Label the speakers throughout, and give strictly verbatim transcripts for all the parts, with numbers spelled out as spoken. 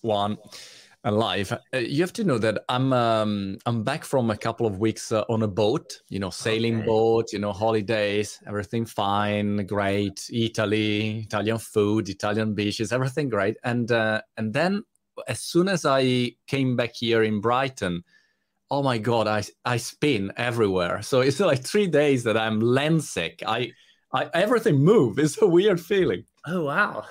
Speaker 1: one alive. Uh, you have to know that I'm um, I'm back from a couple of weeks uh, on a boat, you know, sailing
Speaker 2: Okay.
Speaker 1: boat, you know, holidays, everything fine, great. Italy, Italian food, Italian beaches, everything great. And uh, and then as soon as I came back here in Brighton, oh my God, I I spin everywhere. So it's like three days that I'm land sick. I, I everything move. It's a weird feeling.
Speaker 2: Oh, wow.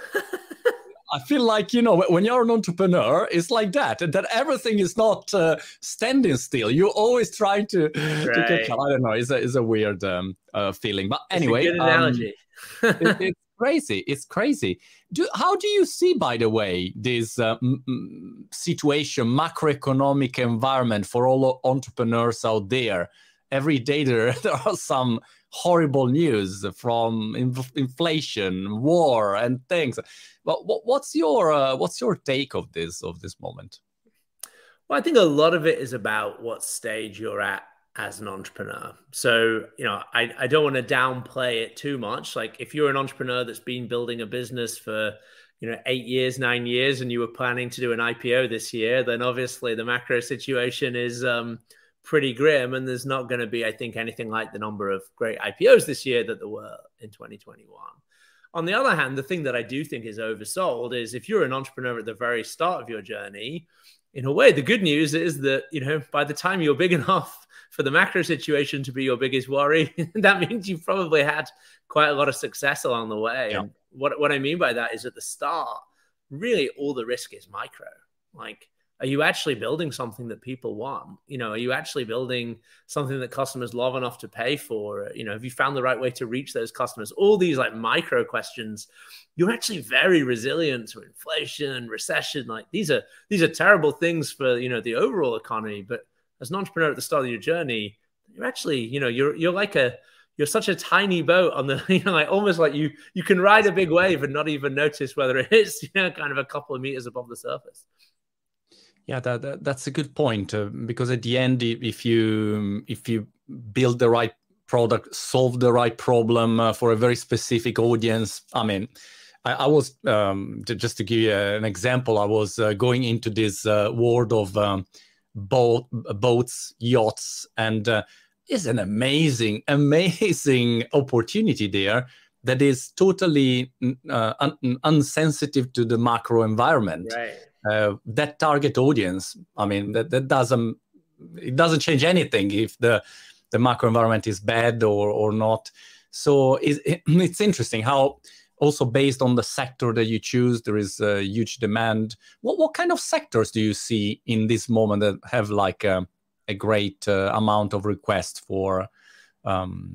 Speaker 1: I feel like, you know, when you're an entrepreneur, it's like that, that everything is not uh, standing still. You're always trying to, to catch
Speaker 2: Right.
Speaker 1: up. I don't know. It's a, it's a weird um, uh, feeling. But
Speaker 2: It's a
Speaker 1: anyway,
Speaker 2: good
Speaker 1: um,
Speaker 2: analogy.
Speaker 1: it, it's crazy. It's crazy. Do, how do you see, by the way, this uh, m- m- situation, macroeconomic environment for all entrepreneurs out there? Every day there, there are some horrible news from inf- inflation, war, and things. But what, what's your uh, what's your take of this of this moment?
Speaker 2: Well, I think a lot of it is about what stage you're at as an entrepreneur. So, you know, I, I don't want to downplay it too much. Like if you're an entrepreneur that's been building a business for, you know, eight years, nine years, and you were planning to do an I P O this year, then obviously the macro situation is um, pretty grim. And there's not going to be, I think, anything like the number of great I P Os this year that there were in twenty twenty-one. On the other hand, the thing that I do think is oversold is if you're an entrepreneur at the very start of your journey, in a way, the good news is that, you know, by the time you're big enough for the macro situation to be your biggest worry, that means you've probably had quite a lot of success along the way.
Speaker 1: Yeah.
Speaker 2: And what, what I mean by that is at the start, really all the risk is micro. Like, are you actually building something that people want? You know, are you actually building something that customers love enough to pay for? You know, have you found the right way to reach those customers? All these like micro questions. You're actually very resilient to inflation, recession. Like these are these are terrible things for, you know, the overall economy. But as an entrepreneur at the start of your journey, you're actually, you know, you're you're like a you're such a tiny boat on the, you know, like almost like you you can ride a big wave and not even notice whether it is, you know, kind of a couple of meters above the surface.
Speaker 1: Yeah, that, that that's a good point uh, because at the end, if you if you build the right product, solve the right problem uh, for a very specific audience, I mean, I, I was um, to, just to give you an example, I was uh, going into this uh, world of um, boat boats, yachts, and uh, it's an amazing, amazing opportunity there that is totally uh, un- unsensitive to the macro environment.
Speaker 2: Right.
Speaker 1: Uh, that target audience, I mean, that, that doesn't it doesn't change anything if the the macro environment is bad or or not. So it, it, it's interesting how also based on the sector that you choose, there is a huge demand. What what kind of sectors do you see in this moment that have like a, a great uh, amount of requests for um,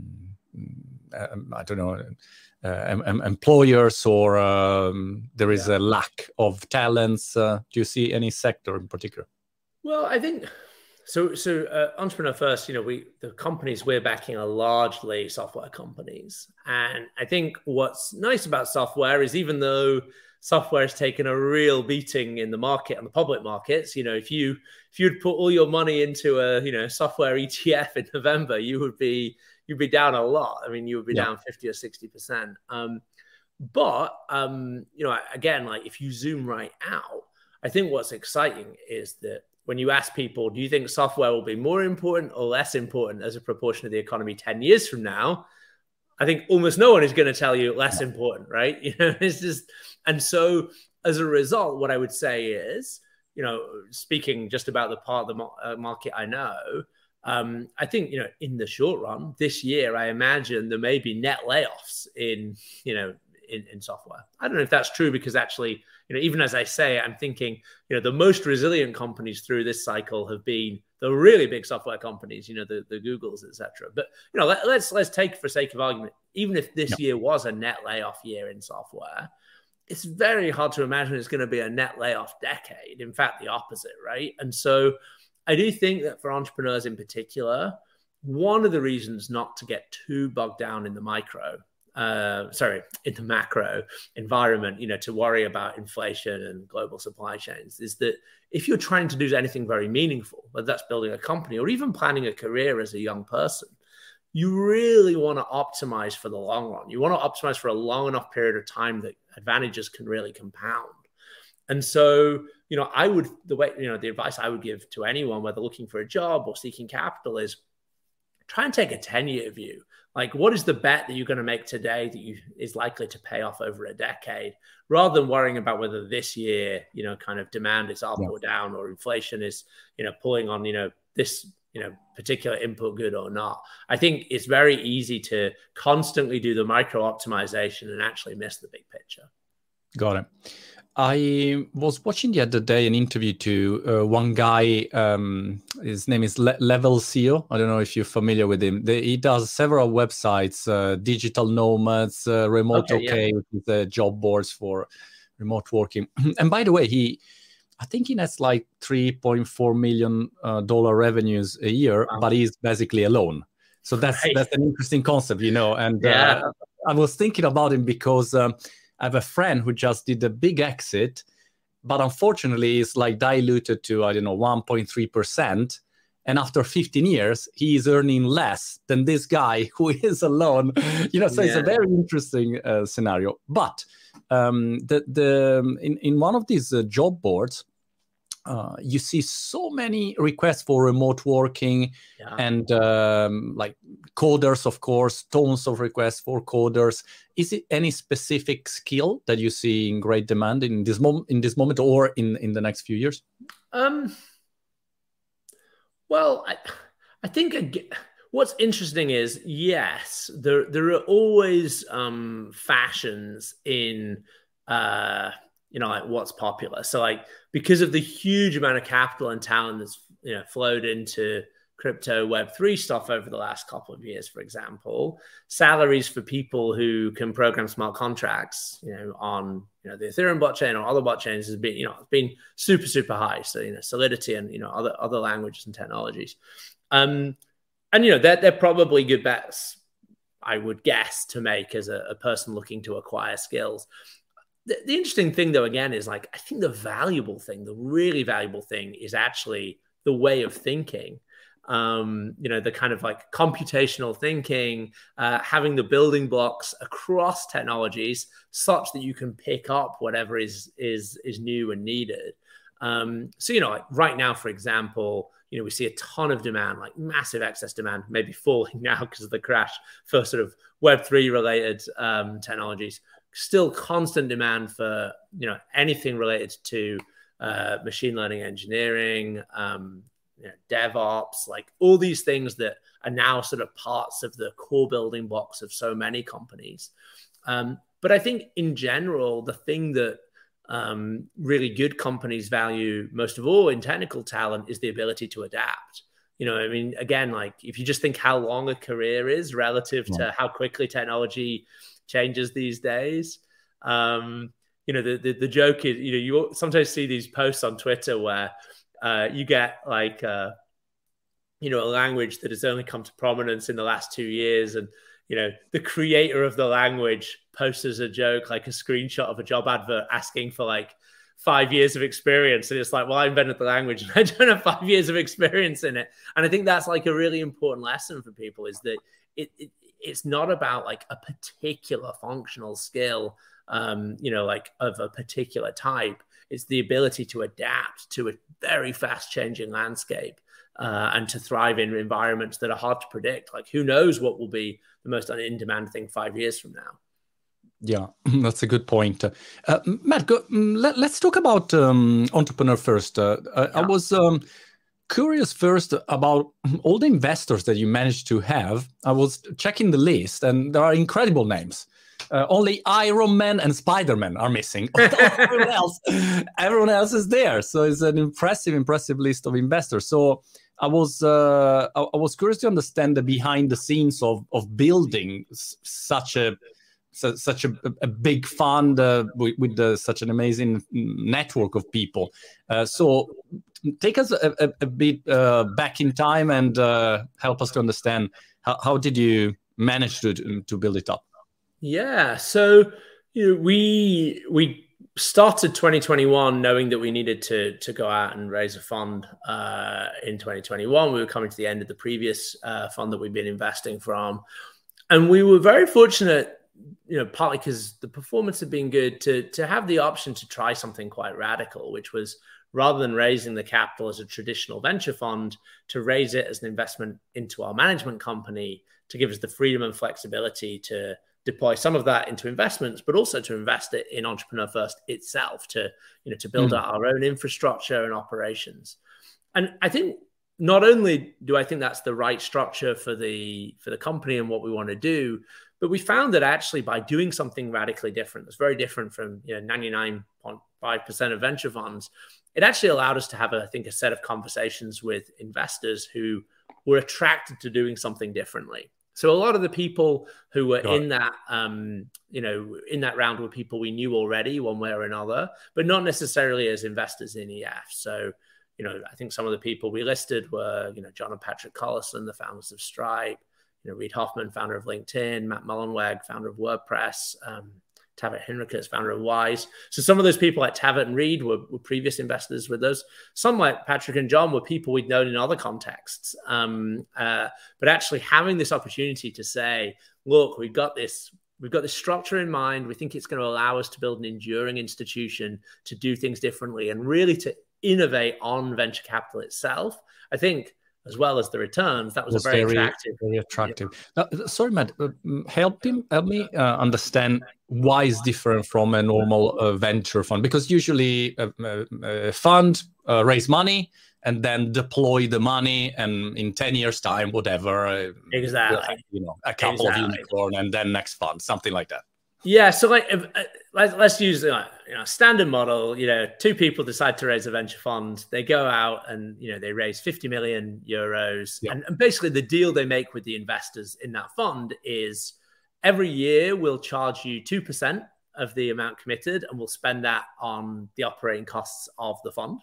Speaker 1: I don't know, uh, em- employers, or um, there is
Speaker 2: Yeah.
Speaker 1: a lack of talents? Uh, do you see any sector in particular?
Speaker 2: Well, I think so. So, uh, entrepreneur first. You know, we the companies we're backing are largely software companies, and I think what's nice about software is even though software has taken a real beating in the market and the public markets, you know, if you if you'd put all your money into a you know software E T F in November, you would be you'd be down a lot. I mean, you would be
Speaker 1: Yeah,
Speaker 2: down fifty or sixty percent. Um, but um, you know, again, like if you zoom right out, I think what's exciting is that when you ask people, do you think software will be more important or less important as a proportion of the economy ten years from now? I think almost no one is going to tell you less important, right? You know, it's just, and so as a result, what I would say is, you know, speaking just about the part of the uh, market I know, um, I think, you know, in the short run, this year, I imagine there may be net layoffs in, you know, in, in software. I don't know if that's true because actually, you know, even as I say, I'm thinking, you know, the most resilient companies through this cycle have been the really big software companies, you know, the, the Googles, et cetera. But, you know, let, let's let's take for sake of argument, even if
Speaker 1: yeah,
Speaker 2: this year was a net layoff year in software, it's very hard to imagine it's going to be a net layoff decade. In fact, the opposite, right? And so I do think that for entrepreneurs in particular, one of the reasons not to get too bogged down in the micro, uh, sorry, in the macro environment, you know, to worry about inflation and global supply chains is that if you're trying to do anything very meaningful, whether that's building a company or even planning a career as a young person, you really want to optimize for the long run. You want to optimize for a long enough period of time that advantages can really compound. And so, you know, I would, the way, you know, the advice I would give to anyone, whether looking for a job or seeking capital, is try and take a ten year view. Like, what is the bet that you're going to make today that you is likely to pay off over a decade, rather than worrying about whether this year, you know, kind of demand is up yeah. or down, or inflation is, you know, pulling on, you know, this, you know, particular input good or not. I think it's very easy to constantly do the micro optimization and actually miss the big picture.
Speaker 1: Got it. I was watching the other day an interview to uh, one guy. Um, his name is Le- Level C E O. I don't know if you're familiar with him. The, he does several websites, uh, Digital Nomads, uh, Remote OK, okay yeah. with the job boards for remote working. And by the way, he, I think he has like three point four million dollars uh, revenues a year, wow. but he's basically alone. So that's right. that's an interesting concept, you know. And yeah. uh, I was thinking about him because. Um, I have a friend who just did a big exit, but unfortunately it's like diluted to, I don't know, one point three percent. And after fifteen years, he is earning less than this guy who is alone. You know, so yeah. it's a very interesting uh, scenario. But um, the, the, in, in one of these uh, job boards, Uh, you see so many requests for remote working yeah. and um, like coders, of course, tons of requests for coders. Is it any specific skill that you see in great demand in this moment, in this moment, or in, in the next few years?
Speaker 2: Um, well, I, I think again, what's interesting is, yes, there there are always um, fashions in. Uh, you know, like what's popular. So like, because of the huge amount of capital and talent that's, you know, flowed into crypto Web three stuff over the last couple of years, for example, salaries for people who can program smart contracts, you know, on, you know, the Ethereum blockchain or other blockchains has been, you know, it's been super, super high. So, you know, Solidity and, you know, other, other languages and technologies. Um, and, you know, they're, they're probably good bets, I would guess, to make as a, a person looking to acquire skills. The, the interesting thing, though, again, is like, I think the valuable thing, the really valuable thing is actually the way of thinking, um, you know, the kind of like computational thinking, uh, having the building blocks across technologies such that you can pick up whatever is, is, is new and needed. Um, so, you know, like right now, for example, you know, we see a ton of demand, like massive excess demand, maybe falling now because of the crash for sort of Web three related um, technologies. Still constant demand for, you know, anything related to uh, machine learning engineering, um, you know, DevOps, like all these things that are now sort of parts of the core building blocks of so many companies. Um, but I think in general, the thing that um, really good companies value most of all in technical talent is the ability to adapt. You know, I mean, again, like if you just think how long a career is relative yeah. to how quickly technology changes these days. Um, you know, the, the the joke is, you know, you sometimes see these posts on Twitter where uh, you get like, uh, you know, a language that has only come to prominence in the last two years. And, you know, the creator of the language posts as a joke, like a screenshot of a job advert asking for like five years of experience. And it's like, well, I invented the language and I don't have five years of experience in it. And I think that's like a really important lesson for people, is that it, it it's not about like a particular functional skill, um, you know, like of a particular type. It's the ability to adapt to a very fast changing landscape uh, and to thrive in environments that are hard to predict. Like, who knows what will be the most in-demand thing five years from now?
Speaker 1: Yeah, that's a good point. Uh, Matt, go, let, let's talk about um, Entrepreneur First. Uh, yeah. I was um, curious first about all the investors that you managed to have. I was checking the list, and there are incredible names. Uh, only Iron Man and Spider-Man are missing. everyone else, everyone else is there. So it's an impressive, impressive list of investors. So I was, uh, I, I was curious to understand the behind the scenes of of building s- such a So, such a, a big fund uh, with, with uh, such an amazing network of people. Uh, so take us a, a, a bit uh, back in time and uh, help us to understand how, how did you manage to, to build it up?
Speaker 2: Yeah, so you know, we we started twenty twenty-one knowing that we needed to to go out and raise a fund uh, in twenty twenty-one. We were coming to the end of the previous uh, fund that we'd been investing from. And we were very fortunate you know, partly because the performance had been good, to to have the option to try something quite radical, which was, rather than raising the capital as a traditional venture fund, to raise it as an investment into our management company, to give us the freedom and flexibility to deploy some of that into investments, but also to invest it in Entrepreneur First itself, to, you know, to build mm. out our own infrastructure and operations. And I think not only do I think that's the right structure for the for the company and what we want to do, but we found that actually by doing something radically different, that's very different from, you know, ninety-nine point five percent of venture funds, it actually allowed us to have, a, I think, a set of conversations with investors who were attracted to doing something differently. So a lot of the people who were in that, um, you know, in that round were people we knew already one way or another, but not necessarily as investors in E F. So, you know, I think some of the people we listed were, you know, John and Patrick Collison, the founders of Stripe, you know, Reid Hoffman, founder of LinkedIn, Matt Mullenweg, founder of WordPress, um, Tavit Henriques, founder of Wise. So some of those people like Tavit and Reid were, were previous investors with us. Some like Patrick and John were people we'd known in other contexts. Um, uh, but actually having this opportunity to say, look, we've got this, we've got this structure in mind. We think it's going to allow us to build an enduring institution, to do things differently, and really to innovate on venture capital itself. I think, as well as the returns, that was, was a very, very attractive.
Speaker 1: Very attractive. Yeah. Uh, sorry, Matt, uh, help him, help me uh, understand why it's different from a normal uh, venture fund. Because usually a, a, a fund uh, raise money and then deploy the money, and in ten years' time, whatever. Uh,
Speaker 2: exactly.
Speaker 1: You know, a couple
Speaker 2: exactly.
Speaker 1: of unicorn, and then next fund, something like that.
Speaker 2: Yeah, so like, if, uh, let's, let's use uh, you know, standard model. You know, two people decide to raise a venture fund. They go out and, you know, they raise fifty million euros. Yeah. And, and basically the deal they make with the investors in that fund is every year we'll charge you two percent of the amount committed, and we'll spend that on the operating costs of the fund.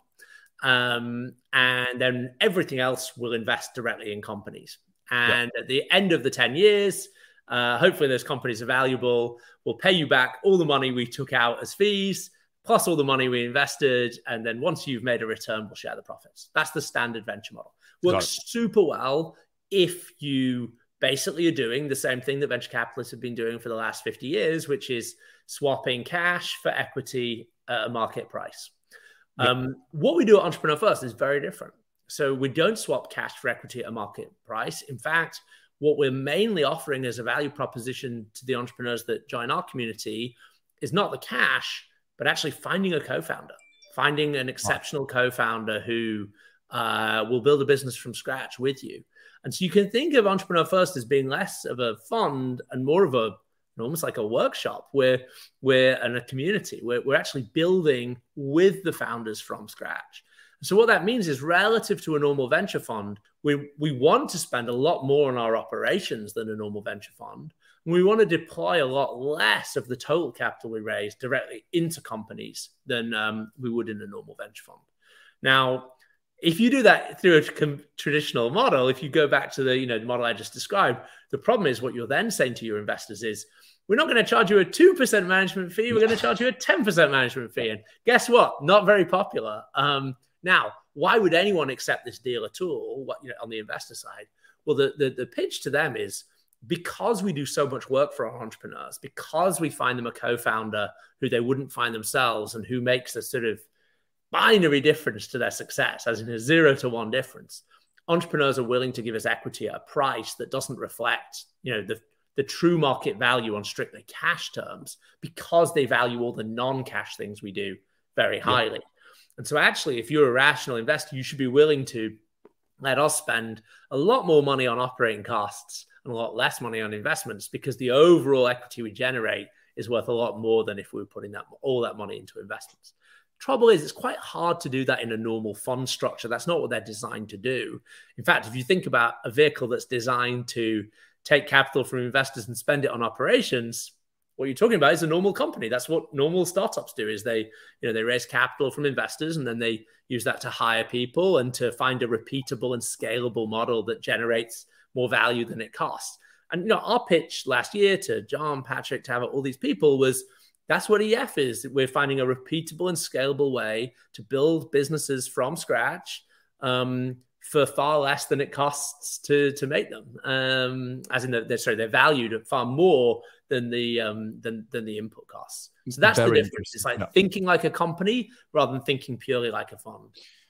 Speaker 2: Um, and then everything else we'll invest directly in companies. And yeah. at the end of the ten years, Uh, hopefully those companies are valuable. We'll pay you back all the money we took out as fees, plus all the money we invested. And then once you've made a return, we'll share the profits. That's the standard venture model. Works super well if you basically are doing the same thing that venture capitalists have been doing for the last fifty years, which is swapping cash for equity at a market price. Yep. Um, what we do at Entrepreneur First is very different. So we don't swap cash for equity at a market price. In fact, what we're mainly offering as a value proposition to the entrepreneurs that join our community is not the cash, but actually finding a co-founder, finding an exceptional co-founder who uh, will build a business from scratch with you. And so you can think of Entrepreneur First as being less of a fund and more of a, almost like a workshop where we're in a community, where we're actually building with the founders from scratch. So what that means is, relative to a normal venture fund, we, we want to spend a lot more on our operations than a normal venture fund. And we want to deploy a lot less of the total capital we raise directly into companies than um, we would in a normal venture fund. Now, if you do that through a com- traditional model, if you go back to the, you know, the model I just described, the problem is what you're then saying to your investors is, we're not going to charge you a two percent management fee. We're going to charge you a ten percent management fee. And guess what? Not very popular. Um, Now, why would anyone accept this deal at all? What, you know, on the investor side? Well, the, the, the pitch to them is, because we do so much work for our entrepreneurs, because we find them a co-founder who they wouldn't find themselves and who makes a sort of binary difference to their success, as in a zero to one difference, entrepreneurs are willing to give us equity at a price that doesn't reflect, you know, the, the true market value on strictly cash terms, because they value all the non-cash things we do very highly. Yeah. And so actually, if you're a rational investor, you should be willing to let us spend a lot more money on operating costs and a lot less money on investments, because the overall equity we generate is worth a lot more than if we were putting that all that money into investments. Trouble is, it's quite hard to do that in a normal fund structure. That's not what they're designed to do. In fact, if you think about a vehicle that's designed to take capital from investors and spend it on operations, what you're talking about is a normal company. That's what normal startups do, is they, you know, they raise capital from investors and then they use that to hire people and to find a repeatable and scalable model that generates more value than it costs. And, you know, our pitch last year to John, Patrick, Tavit, all these people was, that's what E F is. We're finding a repeatable and scalable way to build businesses from scratch um, for far less than it costs to to make them. Um, as in, the, they're, sorry, they're valued at far more than the um, than than the input costs. So that's Very the difference. It's like yeah. thinking like a company rather than thinking purely like a fund.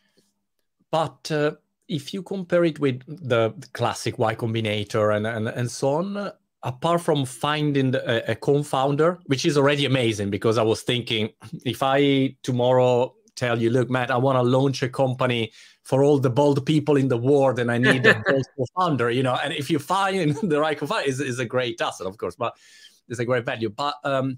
Speaker 1: But uh, if you compare it with the classic Y Combinator and and, and so on, apart from finding the, a, a co-founder, which is already amazing, because I was thinking, if I tomorrow tell you, look, Matt, I want to launch a company for all the bold people in the world, and I need a bold co-founder, you know, and if you find the right co-founder, is is a great asset, of course, but it's a great value. But um,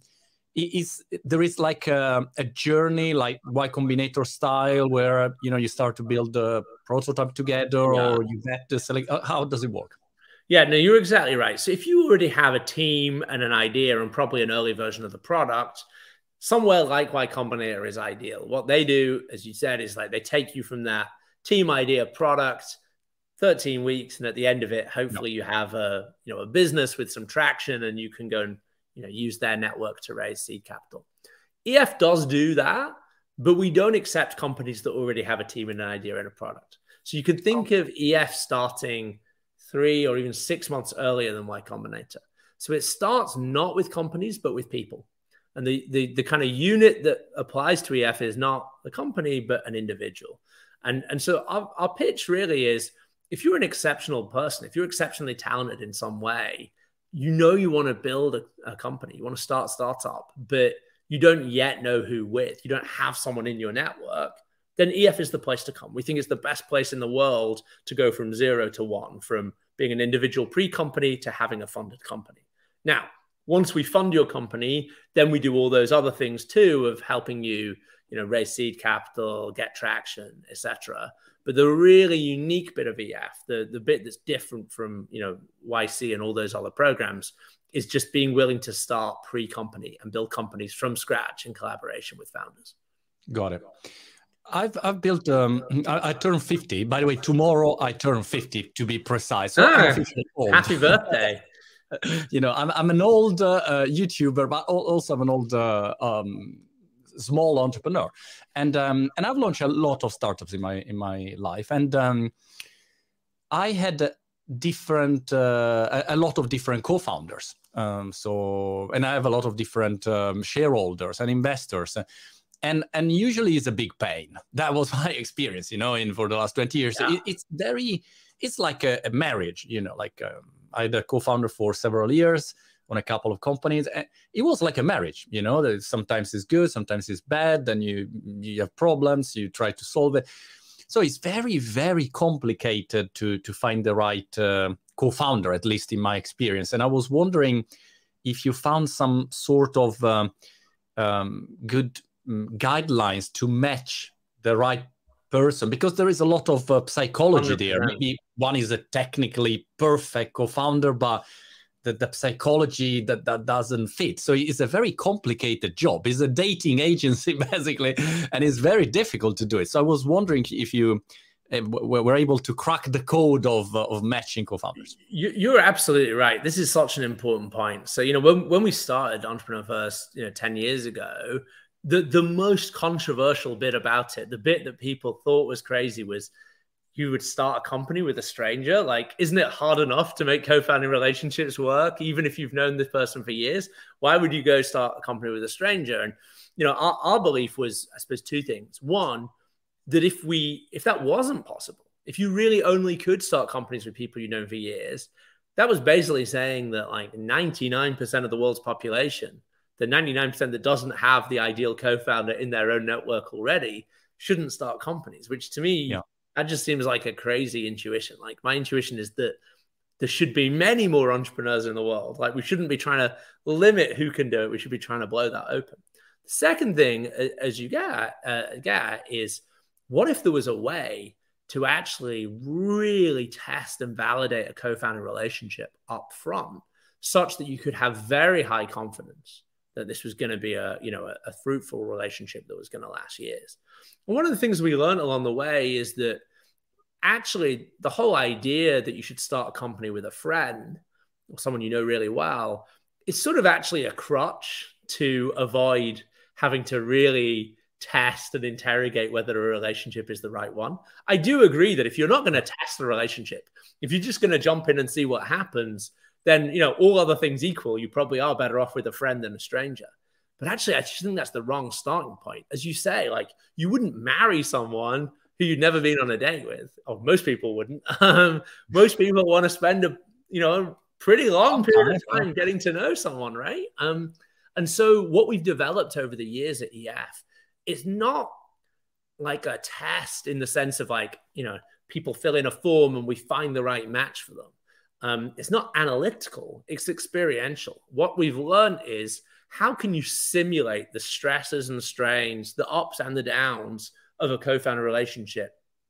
Speaker 1: is there is like a, a journey, like Y Combinator style, where you know you start to build a prototype together, yeah. or you vet the select? How does it work?
Speaker 2: Yeah, no, you're exactly right. So if you already have a team and an idea and probably an early version of the product, somewhere like Y Combinator is ideal. What they do, as you said, is like they take you from that team idea product, thirteen weeks, and at the end of it, hopefully no. you have a you know a business with some traction, and you can go and you know use their network to raise seed capital. E F does do that, but we don't accept companies that already have a team and an idea and a product. So you could think oh. of E F starting three or even six months earlier than Y Combinator. So it starts not with companies, but with people. And the, the, the kind of unit that applies to E F is not the company, but an individual. And, and so our, our pitch really is, if you're an exceptional person, if you're exceptionally talented in some way, you know you want to build a, a company, you want to start a startup, but you don't yet know who with, you don't have someone in your network, then E F is the place to come. We think it's the best place in the world to go from zero to one, from being an individual pre-company to having a funded company. Now, once we fund your company, then we do all those other things too of helping you, you know, raise seed capital, get traction, et cetera. But the really unique bit of E F, the, the bit that's different from, you know, Y C and all those other programs, is just being willing to start pre-company and build companies from scratch in collaboration with founders.
Speaker 1: Got it. I've I've built. Um, I, I turned fifty. By the way, tomorrow I turn fifty to be precise. So
Speaker 2: ah, happy birthday!
Speaker 1: You know, I'm I'm an old uh, uh, YouTuber, but also I'm an old uh, um, small entrepreneur, and um, and I've launched a lot of startups in my in my life, and um, I had different uh, a, a lot of different co-founders. Um, so, and I have a lot of different um, shareholders and investors. And and usually it's a big pain. That was my experience, you know, in for the last twenty years. Yeah. It, it's very, it's like a, a marriage, you know, like um, I had a co-founder for several years on a couple of companies. And it was like a marriage, you know, that sometimes it's good, sometimes it's bad. Then you, you have problems, you try to solve it. So it's very, very complicated to, to find the right uh, co-founder, at least in my experience. And I was wondering if you found some sort of um, um, good guidelines to match the right person, because there is a lot of uh, psychology one hundred percent there. Maybe one is a technically perfect co-founder, but the, the psychology that, that doesn't fit. So it's a very complicated job. It's a dating agency, basically, and it's very difficult to do it. So I was wondering if you uh, were able to crack the code of, uh, of matching co-founders.
Speaker 2: You, you're absolutely right. This is such an important point. So, you know, when, when we started Entrepreneur First, you know, ten years ago, The, the most controversial bit about it, the bit that people thought was crazy, was you would start a company with a stranger. Like, isn't it hard enough to make co-founding relationships work, even if you've known this person for years? Why would you go start a company with a stranger? And, you know, our, our belief was, I suppose, two things. One, that if we, if that wasn't possible, if you really only could start companies with people you've known for years, that was basically saying that like ninety-nine percent of the world's population, the ninety-nine percent that doesn't have the ideal co-founder in their own network already, shouldn't start companies, which to me, yeah. that just seems like a crazy intuition. Like, my intuition is that there should be many more entrepreneurs in the world. Like, we shouldn't be trying to limit who can do it. We should be trying to blow that open. The second thing, as you get, uh, get is, what if there was a way to actually really test and validate a co-founder relationship up front, such that you could have very high confidence that this was going to be a, you know, a, a fruitful relationship that was going to last years. And one of the things we learned along the way is that actually the whole idea that you should start a company with a friend or someone you know really well is sort of actually a crutch to avoid having to really test and interrogate whether a relationship is the right one. I do agree that if you're not going to test the relationship, if you're just going to jump in and see what happens, then, you know, all other things equal, you probably are better off with a friend than a stranger. But actually, I just think that's the wrong starting point. As you say, like, you wouldn't marry someone who you'd never been on a date with. Or most people wouldn't. Um, most people want to spend a, you know, pretty long period of time getting to know someone, right? Um, and so what we've developed over the years at E F is not like a test in the sense of like, you know, people fill in a form and we find the right match for them. Um, it's not analytical, it's experiential. What we've learned is, how can you simulate the stresses and strains, the ups and the downs of a co-founder relationship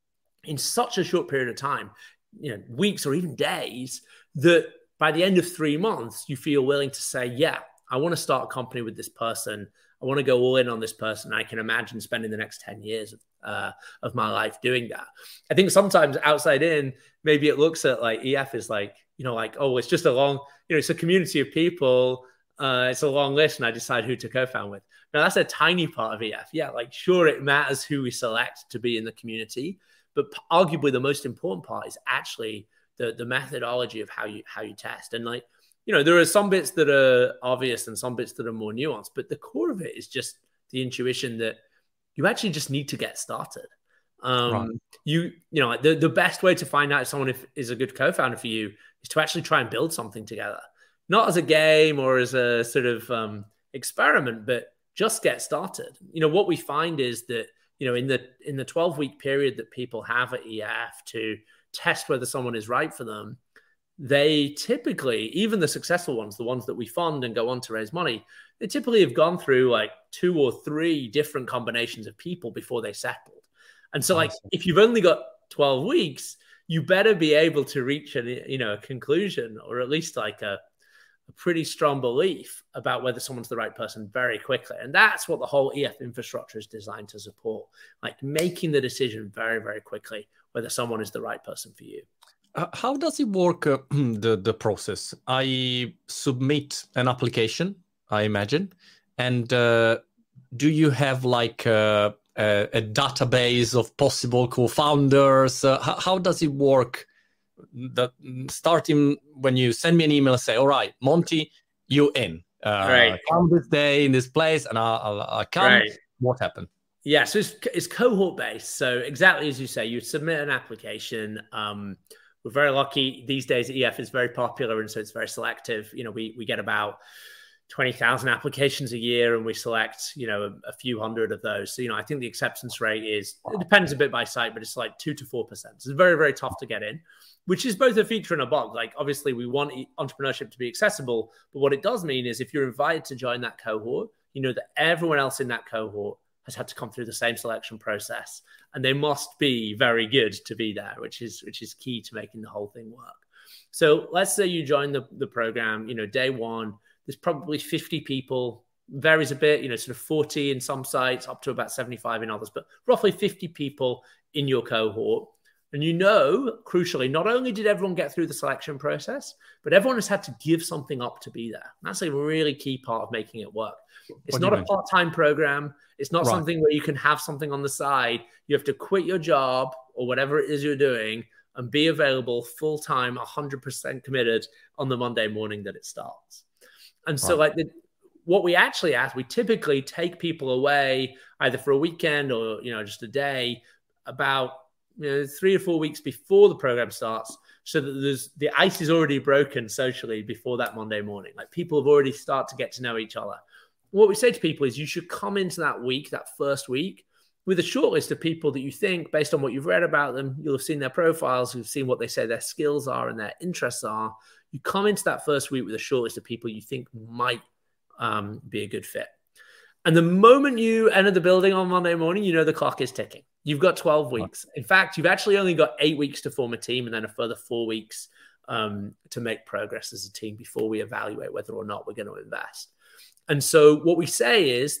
Speaker 2: in such a short period of time, you know, weeks or even days, that by the end of three months, you feel willing to say, yeah, I want to start a company with this person. I want to go all in on this person. I can imagine spending the next ten years of, uh, of my life doing that. I think sometimes outside in, maybe it looks at like E F is like, you know, like, oh, it's just a long, you know, it's a community of people. Uh, it's a long list and I decide who to co-found with. Now, that's a tiny part of E F. Yeah, like, sure, it matters who we select to be in the community, but arguably the most important part is actually the, the methodology of how you how you test. And like, you know, there are some bits that are obvious and some bits that are more nuanced, but the core of it is just the intuition that you actually just need to get started. Um, right. You, you know, the, the best way to find out if someone if, is a good co-founder for you is to actually try and build something together. Not as a game or as a sort of um, experiment, but just get started. You know, what we find is that, you know, in the in the twelve week period that people have at E F to test whether someone is right for them, they typically, even the successful ones, the ones that we fund and go on to raise money, they typically have gone through like two or three different combinations of people before they settled. And so, like, awesome. If you've only got twelve weeks, you better be able to reach a, you know, a conclusion, or at least like a a pretty strong belief about whether someone's the right person very quickly. And that's what the whole E F infrastructure is designed to support, like making the decision very, very quickly whether someone is the right person for you.
Speaker 1: Uh, how does it work, uh, the, the process? I submit an application, I imagine. And uh, do you have like a, a, a database of possible co-founders? Uh, how, how does it work? That starting when you send me an email and say, all right, Monty, you in. Uh,
Speaker 2: right.
Speaker 1: Come this day in this place and I'll, I'll, I'll come. Right. What happened?
Speaker 2: Yeah, so it's, it's cohort based. So exactly as you say, you submit an application. Um, we're very lucky these days. E F is very popular, and so it's very selective. You know, we we get about twenty thousand applications a year, and we select, you know, a, a few hundred of those. So, you know, I think the acceptance rate is, it depends a bit by site, but it's like two to four percent. So it's very, very tough to get in, which is both a feature and a bug. Like, obviously, we want entrepreneurship to be accessible, but what it does mean is if you're invited to join that cohort, you know that everyone else in that cohort has had to come through the same selection process, and they must be very good to be there, which is which is key to making the whole thing work. So let's say you join the, the program, you know, day one, there's probably fifty people, varies a bit, you know, sort of forty in some sites, up to about seventy-five in others, but roughly fifty people in your cohort. And you know, crucially, not only did everyone get through the selection process, but everyone has had to give something up to be there. That's a really key part of making it work. It's not a part-time program. It's not right. something where you can have something on the side. You have to quit your job or whatever it is you're doing and be available full-time, one hundred percent committed on the Monday morning that it starts. And so right. like the, what we actually ask, we typically take people away either for a weekend or, you know, just a day about, you know, three or four weeks before the program starts, so that there's the ice is already broken socially before that Monday morning. Like, people have already started to get to know each other. What we say to people is you should come into that week, that first week, with a short list of people that you think, based on what you've read about them, you'll have seen their profiles, you've seen what they say their skills are and their interests are. You come into that first week with a short list of people you think might um, be a good fit. And the moment you enter the building on Monday morning, you know the clock is ticking. You've got twelve weeks. In fact, you've actually only got eight weeks to form a team and then a further four weeks um, to make progress as a team before we evaluate whether or not we're going to invest. And so what we say is,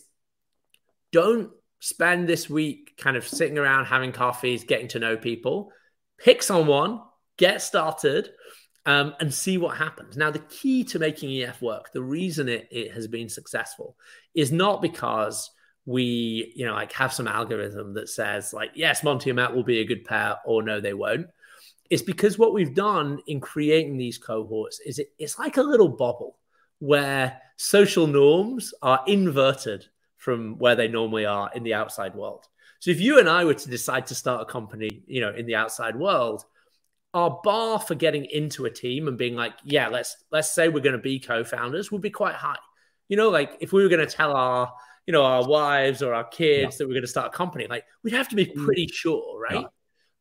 Speaker 2: don't spend this week kind of sitting around having coffees, getting to know people. Pick someone, get started, um, and see what happens. Now, the key to making E F work, the reason it, it has been successful, is not because we, you know, like have some algorithm that says like, yes, Monty and Matt will be a good pair, or no, they won't. It's because what we've done in creating these cohorts is it, it's like a little bubble where social norms are inverted from where they normally are in the outside world. So if you and I were to decide to start a company, you know, in the outside world, our bar for getting into a team and being like, yeah, let's let's say we're going to be co-founders would be quite high. You know, like if we were going to tell our, you know, our wives or our kids yeah. that we're going to start a company, like we'd have to be pretty sure, right? Yeah.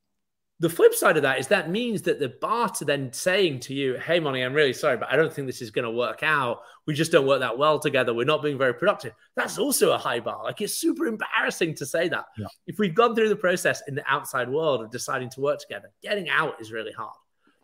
Speaker 2: The flip side of that is that means that the bar to then saying to you, hey, Monty, I'm really sorry, but I don't think this is going to work out. We just don't work that well together. We're not being very productive. That's also a high bar. Like, it's super embarrassing to say that. Yeah. If we've gone through the process in the outside world of deciding to work together, getting out is really hard.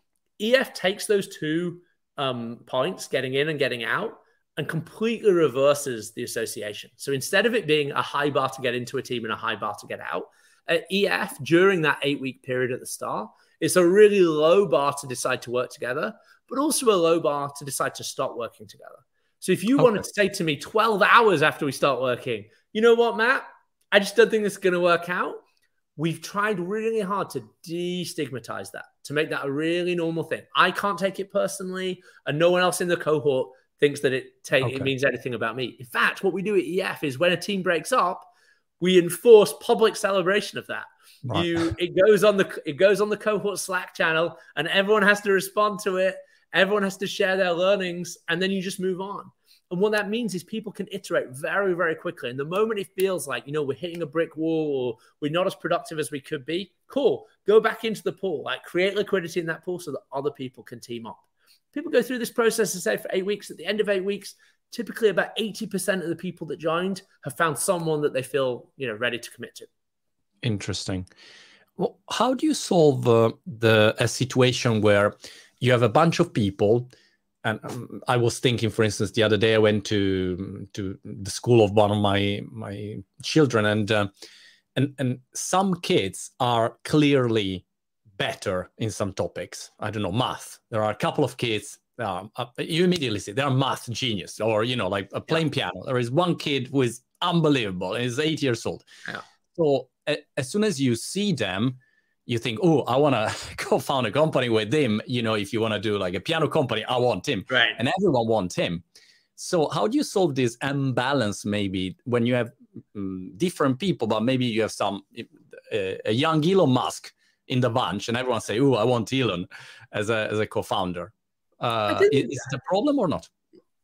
Speaker 2: E F takes those two um, points, getting in and getting out, and completely reverses the association. So instead of it being a high bar to get into a team and a high bar to get out, at E F, during that eight-week period at the start, it's a really low bar to decide to work together, but also a low bar to decide to stop working together. So if you okay. wanted to say to me twelve hours after we start working, you know what, Matt? I just don't think this is going to work out. We've tried really hard to destigmatize that, to make that a really normal thing. I can't take it personally, and no one else in the cohort thinks that it, take, okay. it means anything about me. In fact, what we do at E F is when a team breaks up, we enforce public celebration of that. Right. You, it goes on the it goes on the cohort Slack channel, and everyone has to respond to it. Everyone has to share their learnings, and then you just move on. And what that means is people can iterate very, very quickly. And the moment it feels like, you know, we're hitting a brick wall or we're not as productive as we could be, cool, go back into the pool, like create liquidity in that pool so that other people can team up. People go through this process, say, for eight weeks. At the end of eight weeks, typically about eighty percent of the people that joined have found someone that they feel, you know, ready to commit to.
Speaker 1: Interesting. Well, how do you solve uh, the a situation where you have a bunch of people? And um, I was thinking, for instance, the other day I went to to the school of one of my my children, and uh, and and some kids are clearly better in some topics. I don't know, math. There are a couple of kids. Um, uh, you immediately see they're math genius, or you know, like uh, playing yeah. piano. There is one kid who is unbelievable and is eight years old. Yeah. So uh, as soon as you see them, you think, oh, I want to co-found a company with him. You know, if you want to do like a piano company, I want him.
Speaker 2: Right.
Speaker 1: And everyone wants him. So how do you solve this imbalance maybe when you have um, different people, but maybe you have some uh, a young Elon Musk in the bunch, and everyone say, oh, I want Elon as a as a co-founder. Uh, is, is it a problem or not?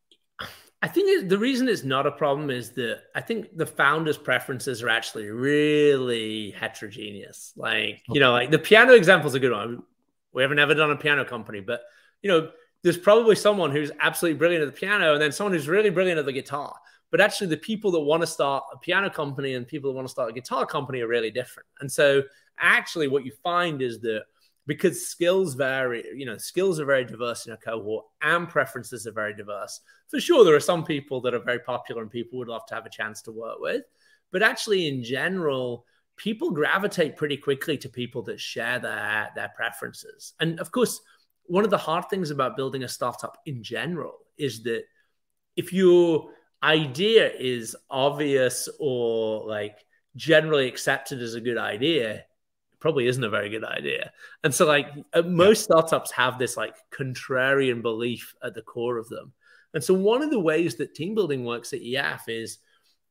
Speaker 2: I think it, the reason it's not a problem is that I think the founders' preferences are actually really heterogeneous. Like, you know, like the piano example is a good one. We haven't ever done a piano company, but, you know, there's probably someone who's absolutely brilliant at the piano and then someone who's really brilliant at the guitar. But actually the people that want to start a piano company and people that want to start a guitar company are really different. And so actually what you find is that because skills vary, you know, skills are very diverse in a cohort and preferences are very diverse. For sure, there are some people that are very popular and people would love to have a chance to work with. But actually, in general, people gravitate pretty quickly to people that share their, their preferences. And of course, one of the hard things about building a startup in general is that if your idea is obvious or like generally accepted as a good idea, probably isn't a very good idea. And so like most startups have this like contrarian belief at the core of them. And so one of the ways that team building works at E F is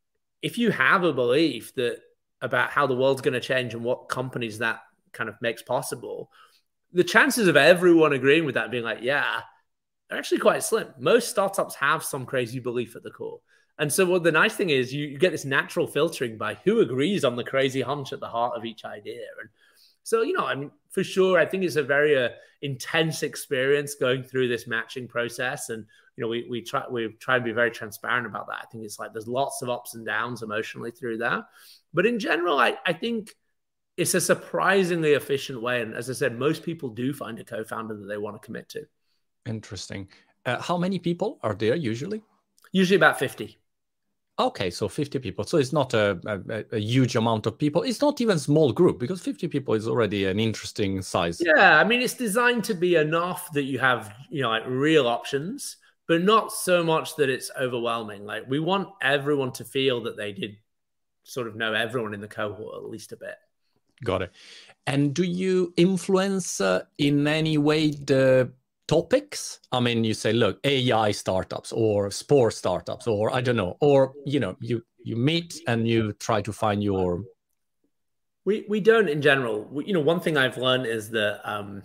Speaker 2: if you have a belief that about how the world's going to change and what companies that kind of makes possible, the chances of everyone agreeing with that and being like, yeah, are actually quite slim. Most startups have some crazy belief at the core. And so what the nice thing is you, you get this natural filtering by who agrees on the crazy hunch at the heart of each idea. And so, you know, I mean, for sure, I think it's a very uh, intense experience going through this matching process. And, you know, we we try we try and be very transparent about that. I think it's like there's lots of ups and downs emotionally through that. But in general, I, I think it's a surprisingly efficient way. And as I said, most people do find a co-founder that they want to commit to.
Speaker 1: Interesting. Uh, how many people are there usually?
Speaker 2: Usually about fifty.
Speaker 1: Okay, so fifty people. So it's not a, a, a huge amount of people. It's not even a small group because fifty people is already an interesting size.
Speaker 2: Yeah, I mean, it's designed to be enough that you have, you know, like real options, but not so much that it's overwhelming. Like we want everyone to feel that they did sort of know everyone in the cohort at least a bit.
Speaker 1: Got it. And do you influence uh, in any way the topics? I mean, you say, look, A I startups or sport startups, or I don't know, or, you know, you, you meet and you try to find your...
Speaker 2: We, we don't in general. We, you know, one thing I've learned is that um,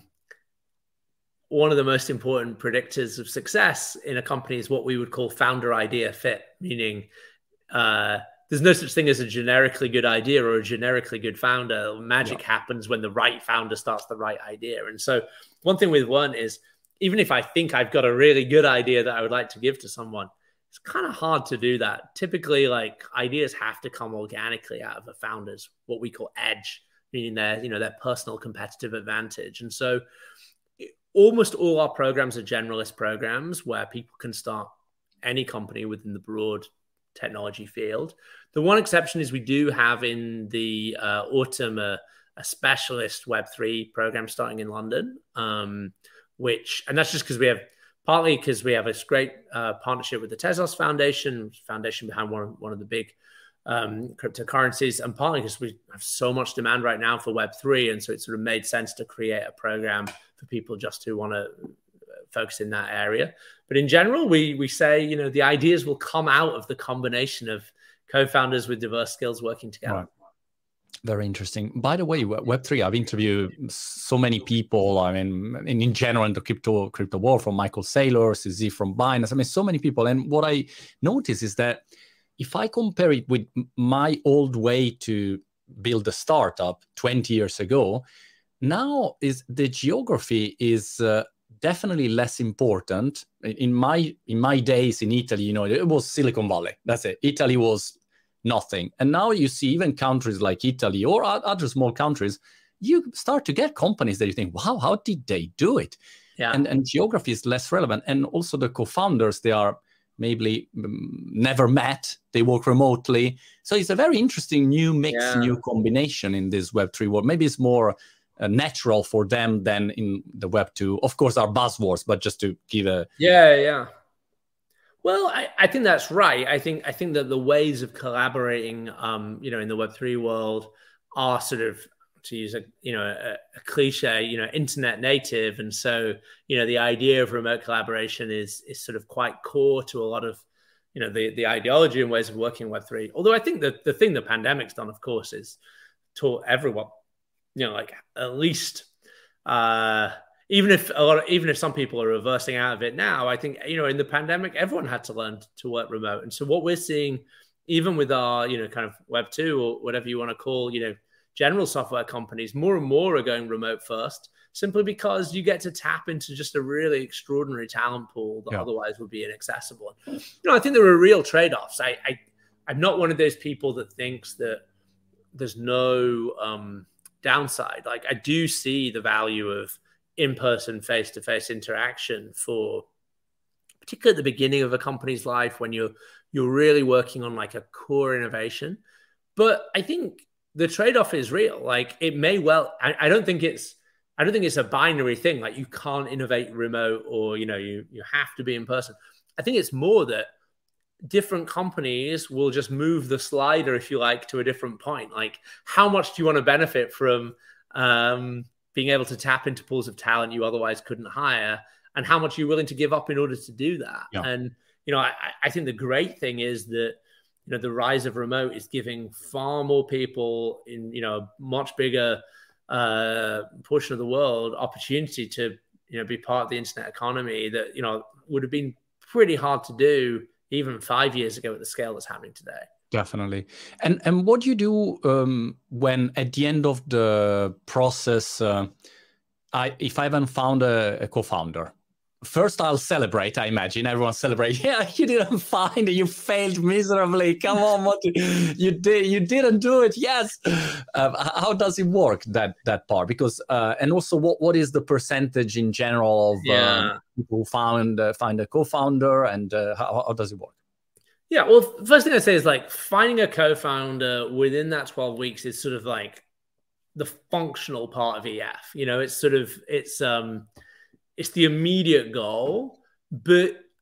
Speaker 2: one of the most important predictors of success in a company is what we would call founder idea fit, meaning uh, there's no such thing as a generically good idea or a generically good founder. Magic yeah. happens when the right founder starts the right idea. And so one thing we've learned is, even if I think I've got a really good idea that I would like to give to someone, it's kind of hard to do that. Typically, like, ideas have to come organically out of a founder's what we call edge, meaning their, you know, their personal competitive advantage. And so almost all our programs are generalist programs where people can start any company within the broad technology field. The one exception is we do have in the uh, autumn a, a specialist Web three program starting in London, um, which, and that's just because we have, partly because we have this great uh, partnership with the Tezos Foundation, foundation behind one of, one of the big um, cryptocurrencies, and partly because we have so much demand right now for Web three, and so it sort of made sense to create a program for people just who want to focus in that area. But in general, we we say, you know, the ideas will come out of the combination of co-founders with diverse skills working together.
Speaker 1: Right. Very interesting. By the way, Web three, I've interviewed so many people. I mean, in, in general, in the crypto crypto world, from Michael Saylor, Z from Binance. I mean, so many people. And what I notice is that if I compare it with my old way to build a startup twenty years ago, now is the geography is uh, definitely less important. In my in my days in Italy, you know, it was Silicon Valley. That's it. Italy was nothing. And now you see even countries like Italy or other small countries, you start to get companies that you think, wow, how did they do it?
Speaker 2: Yeah.
Speaker 1: And, and geography is less relevant. And also the co-founders, they are maybe um, never met. They work remotely. So it's a very interesting new mix, yeah. new combination in this Web three world. Maybe it's more uh, natural for them than in the Web two. Of course, our buzzwords, but just to give a...
Speaker 2: Yeah, yeah. Well, I, I think that's right. I think I think that the ways of collaborating, um, you know, in the Web three world are sort of, to use a you know a, a cliche, you know, internet native, and so you know the idea of remote collaboration is is sort of quite core to a lot of you know the the ideology and ways of working in Web three. Although I think that the thing the pandemic's done, of course, is taught everyone, you know, like at least. Uh, Even if a lot of, even if some people are reversing out of it now, I think, you know, in the pandemic, everyone had to learn to work remote. And so what we're seeing, even with our, you know, kind of Web two or whatever you want to call, you know, general software companies, more and more are going remote first, simply because you get to tap into just a really extraordinary talent pool that yeah. otherwise would be inaccessible. You know, I think there are real trade-offs. I, I, I'm not one of those people that thinks that there's no um, downside. Like, I do see the value of in-person, face-to-face interaction for, particularly at the beginning of a company's life when you're you're really working on like a core innovation. But I think the trade-off is real. Like, it may well, I, I don't think it's, I don't think it's a binary thing. Like, you can't innovate remote, or you know, you you have to be in person. I think it's more that different companies will just move the slider, if you like, to a different point. Like, how much do you want to benefit from um, being able to tap into pools of talent you otherwise couldn't hire, and how much you're willing to give up in order to do that. Yeah. And, you know, I, I think the great thing is that, you know, the rise of remote is giving far more people in, you know, a much bigger uh, portion of the world opportunity to, you know, be part of the internet economy that, you know, would have been pretty hard to do even five years ago at the scale that's happening today.
Speaker 1: Definitely. And and what do you do um, when at the end of the process, uh, I if I haven't found a, a co-founder, first I'll celebrate. I imagine everyone celebrate. Yeah, you didn't find it. You failed miserably. Come on, what you did? You didn't do it. Yes. Uh, how does it work, that that part? Because uh, and also what what is the percentage in general of
Speaker 2: yeah.
Speaker 1: uh, people who found uh, find a co-founder, and uh, how, how does it work?
Speaker 2: Yeah, well, first thing I say is like finding a co-founder within that twelve weeks is sort of like the functional part of E F. You know, it's sort of it's um it's the immediate goal, but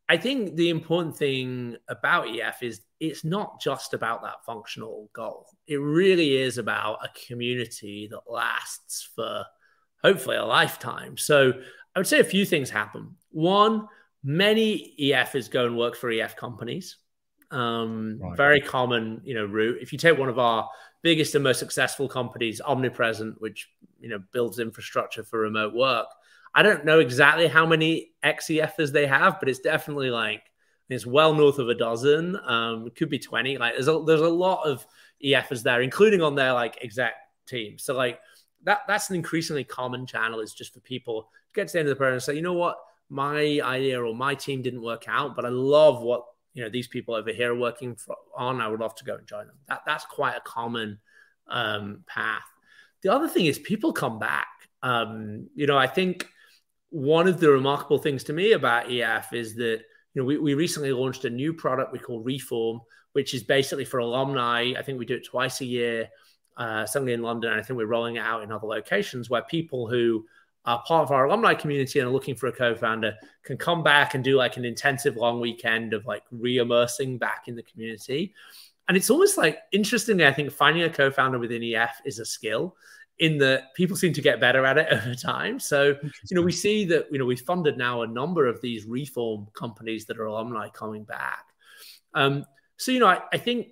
Speaker 2: I think the important thing about E F is it's not just about that functional goal. It really is about a community that lasts for hopefully a lifetime. So I would say a few things happen. One, many E Fs go and work for E F companies. Um, right. Very common, you know, route. If you take one of our biggest and most successful companies, Omnipresent, which, you know, builds infrastructure for remote work, I don't know exactly how many ex-E Fs they have, but it's definitely like, it's well north of a dozen. Um, it could be twenty. Like there's a, there's a lot of E Fs there, including on their like exec team. So like that, that's an increasingly common channel, is just for people to get to the end of the program and say, you know what, my idea or my team didn't work out, but I love what, you know, these people over here are working for, on. I would love to go and join them. That, that's quite a common um, path. The other thing is people come back. Um, you know, I think one of the remarkable things to me about E F is that, you know, we, we recently launched a new product we call Reform, which is basically for alumni. I think we do it twice a year, uh, certainly in London. And I think we're rolling it out in other locations, where people who are part of our alumni community and are looking for a co-founder can come back and do like an intensive long weekend of like re-immersing back in the community. And it's almost like, interestingly, I think finding a co-founder within E F is a skill, in that people seem to get better at it over time. So, you know, we see that, you know, we've funded now a number of these Reform companies that are alumni coming back. Um, so, you know, I, I think,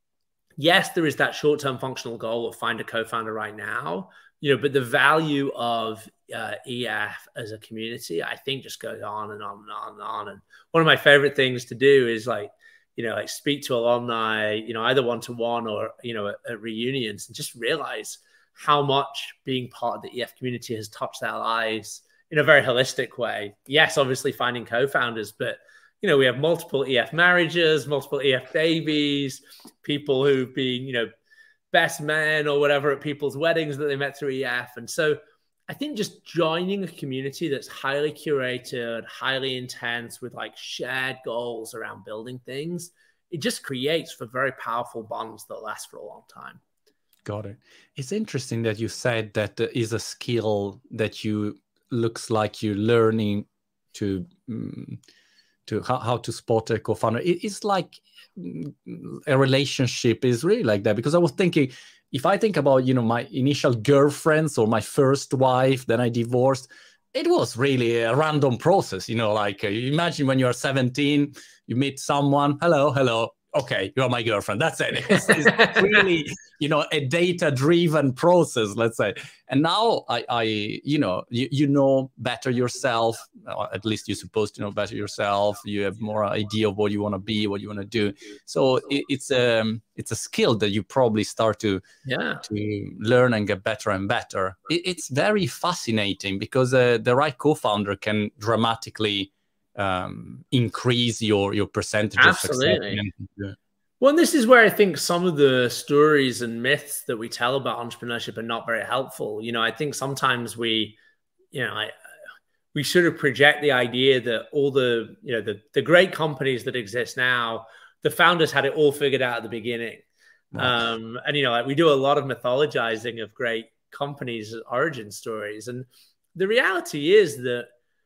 Speaker 2: yes, there is that short-term functional goal of find a co-founder right now, you know, but the value of uh, E F as a community, I think, just goes on and on and on and on. And one of my favorite things to do is like, you know, like speak to alumni, you know, either one-to-one or, you know, at, at reunions, and just realize how much being part of the E F community has touched their lives in a very holistic way. Yes, obviously finding co-founders, but, you know, we have multiple E F marriages, multiple E F babies, people who've been, you know, best men or whatever at people's weddings that they met through E F. And so I think just joining a community that's highly curated, highly intense, with like shared goals around building things, it just creates for very powerful bonds that last for a long time.
Speaker 1: Got it. It's interesting that you said that there is a skill that you looks like you're learning to um, to how, how to spot a co-founder. It, it's like a relationship is really like that, because I was thinking, if I think about, you know, my initial girlfriends or my first wife, then I divorced, it was really a random process, you know, like uh, you imagine when you're seventeen, you meet someone, hello, hello. Okay, you're my girlfriend. That's it. It's, it's really, you know, a data-driven process, let's say. And now I, I you know, you, you know better yourself. Or at least you're supposed to know better yourself. You have more idea of what you want to be, what you want to do. So it, it's a um, it's a skill that you probably start to
Speaker 2: yeah
Speaker 1: to learn and get better and better. It, it's very fascinating, because uh, the right co-founder can dramatically um increase your your percentage
Speaker 2: Absolutely.
Speaker 1: of success. Yeah.
Speaker 2: Well, and this is where I think some of the stories and myths that we tell about entrepreneurship are not very helpful. You know, I think sometimes we, you know, I, we sort of project the idea that all the, you know, the the great companies that exist now, the founders had it all figured out at the beginning. Wow. Um, and, you know, like we do a lot of mythologizing of great companies' origin stories. And the reality is that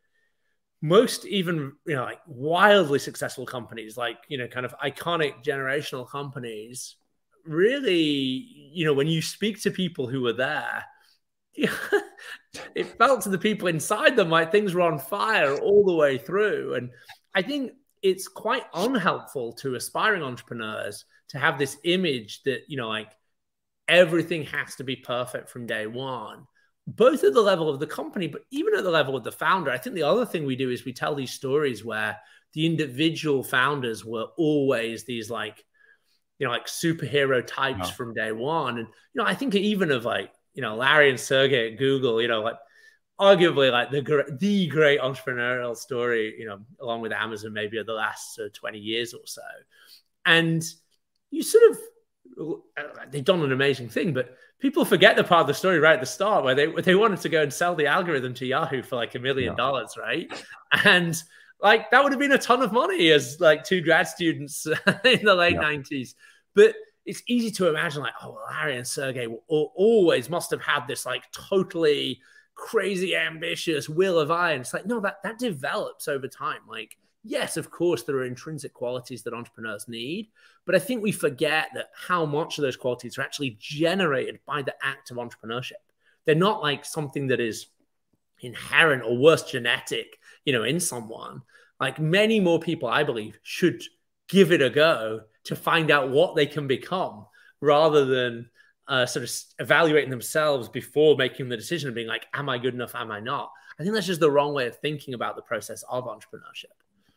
Speaker 2: most even, you know, like wildly successful companies, like, you know, kind of iconic generational companies, really, you know, when you speak to people who were there, it felt to the people inside them like things were on fire all the way through. And I think it's quite unhelpful to aspiring entrepreneurs to have this image that, you know, like everything has to be perfect from day one, both at the level of the company, but even at the level of the founder. I think the other thing we do is we tell these stories where the individual founders were always these like, you know, like superhero types wow. from day one. And, you know, I think even of like, you know, Larry and Sergey at Google, you know, like arguably like the, the great entrepreneurial story, you know, along with Amazon, maybe of the last uh, twenty years or so. And you sort of, they've done an amazing thing, but people forget the part of the story right at the start where they they wanted to go and sell the algorithm to Yahoo for like a million yeah. dollars, right? And like that would have been a ton of money as like two grad students in the late yeah. nineties. But it's easy to imagine like, oh, Larry and Sergey always must have had this like totally crazy ambitious will of iron. It's like, no, that that develops over time. Like yes, of course, there are intrinsic qualities that entrepreneurs need, but I think we forget that how much of those qualities are actually generated by the act of entrepreneurship. They're not like something that is inherent or worse, genetic, you know, in someone. Like many more people, I believe, should give it a go to find out what they can become rather than uh, sort of evaluating themselves before making the decision of being like, am I good enough? Am I not? I think that's just the wrong way of thinking about the process of entrepreneurship.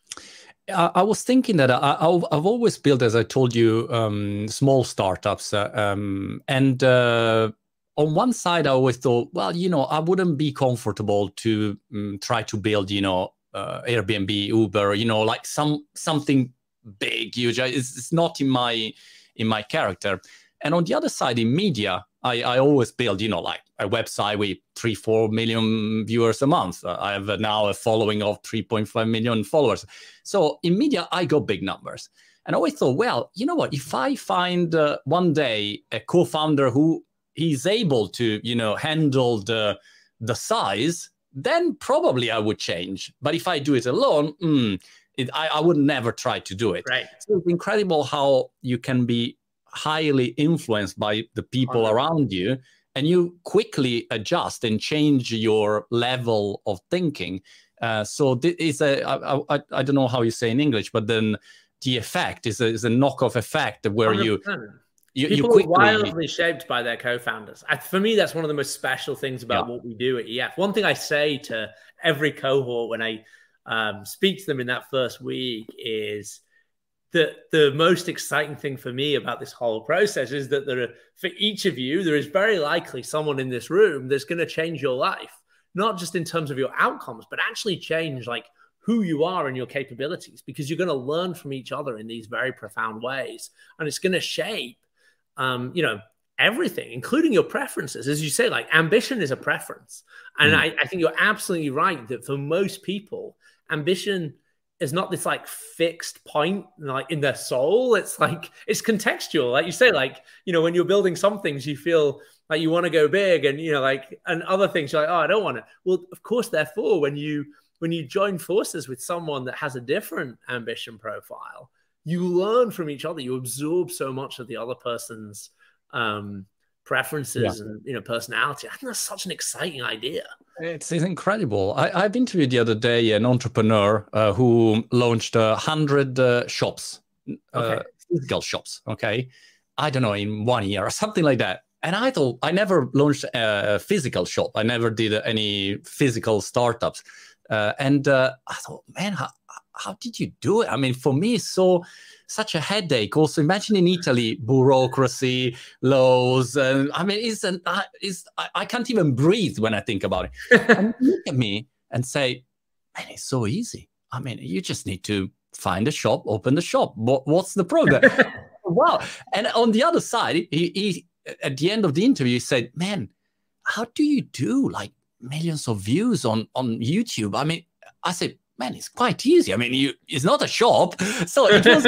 Speaker 1: I, I was thinking that I, I've, I've always built, as I told you, um, small startups. Uh, um, and uh, on one side, I always thought, well, you know, I wouldn't be comfortable to um, try to build, you know, uh, Airbnb, Uber, you know, like some something big, huge. It's, it's not in my in my character. And on the other side, in media, I, I always build, you know, like a website with three, four million viewers a month. Uh, I have now a following of three point five million followers. So in media, I got big numbers. And I always thought, well, you know what, if I find uh, one day a co-founder who is able to, you know, handle the, the size, then probably I would change. But if I do it alone, mm, it, I, I would never try to do it.
Speaker 2: Right.
Speaker 1: So it's incredible how you can be highly influenced by the people
Speaker 2: one hundred percent
Speaker 1: around you, and you quickly adjust and change your level of thinking. Uh, so this is a, I, I, I don't know how you say in English, but then the effect is a, is a knockoff effect where
Speaker 2: one hundred percent.
Speaker 1: you, you,
Speaker 2: People
Speaker 1: you quickly...
Speaker 2: are wildly shaped by their co-founders. I, for me, that's one of the most special things about yeah. what we do at E F. One thing I say to every cohort when I um, speak to them in that first week is that the most exciting thing for me about this whole process is that there are, for each of you, there is very likely someone in this room that's going to change your life, not just in terms of your outcomes, but actually change like who you are and your capabilities, because you're going to learn from each other in these very profound ways. And it's going to shape, um, you know, everything, including your preferences. As you say, like ambition is a preference. And mm. I, I think you're absolutely right that for most people, ambition is not this like fixed point like in their soul. It's like, it's contextual. Like you say, like, you know, when you're building some things, you feel like you want to go big and, you know, like, and other things you're like, oh, I don't want to. Well, of course, therefore, when you, when you join forces with someone that has a different ambition profile, you learn from each other. You absorb so much of the other person's um, preferences yeah. and, you know, personality. I think that's such an exciting idea.
Speaker 1: It's, it's incredible. I, I've interviewed the other day an entrepreneur uh, who launched a uh, hundred uh, shops,
Speaker 2: okay.
Speaker 1: uh, physical shops. Okay, I don't know, in one year or something like that. And I thought I never launched a physical shop. I never did any physical startups. Uh, and uh, I thought, man, how, how did you do it? I mean, for me, it's so such a headache. Also, imagine in Italy, bureaucracy, laws. And I mean, it's an, it's, I, I can't even breathe when I think about it. And you look at me and say, man, it's so easy. I mean, you just need to find a shop, open the shop. What, what's the problem? Wow. And on the other side, he, he at the end of the interview, he said, man, how do you do like millions of views on, on YouTube? I mean, I said, man, it's quite easy. I mean, you, it's not a shop. So it was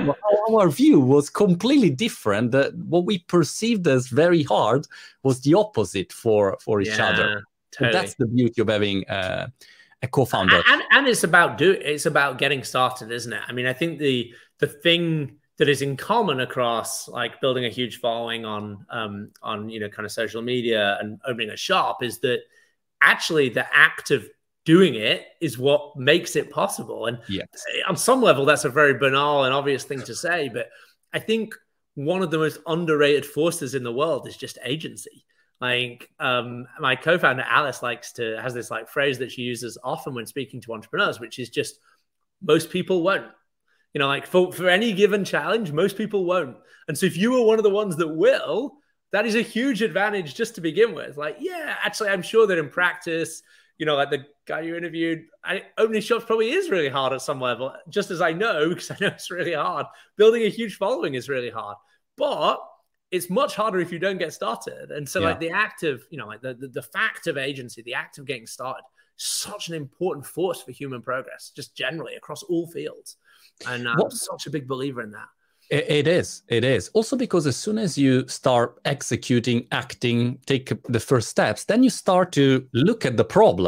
Speaker 1: our view was completely different. That what we perceived as very hard was the opposite for, for each
Speaker 2: yeah,
Speaker 1: other.
Speaker 2: Totally.
Speaker 1: So that's the beauty of having uh, a co-founder.
Speaker 2: And, and it's about do it's about getting started, isn't it? I mean, I think the the thing that is in common across like building a huge following on um, on you know kind of social media and opening a shop is that actually the act of doing it is what makes it possible. And
Speaker 1: yes.
Speaker 2: on some level, that's a very banal and obvious thing to say. But I think one of the most underrated forces in the world is just agency. Like um, my co-founder, Alice, likes to, has this like phrase that she uses often when speaking to entrepreneurs, which is just most people won't. You know, like for, for any given challenge, most people won't. And so if you are one of the ones that will, that is a huge advantage just to begin with. Like, yeah, actually, I'm sure that in practice, you know, like the guy you interviewed, I, opening shops probably is really hard at some level, just as I know, because I know it's really hard. Building a huge following is really hard, but it's much harder if you don't get started. And so yeah. like the act of, you know, like the, the, the fact of agency, the act of getting started, such an important force for human progress, just generally across all fields. And I'm what? such a big believer in that.
Speaker 1: It is. It is. Also because as soon as you start executing, acting, take the first steps, then you start to look at the problem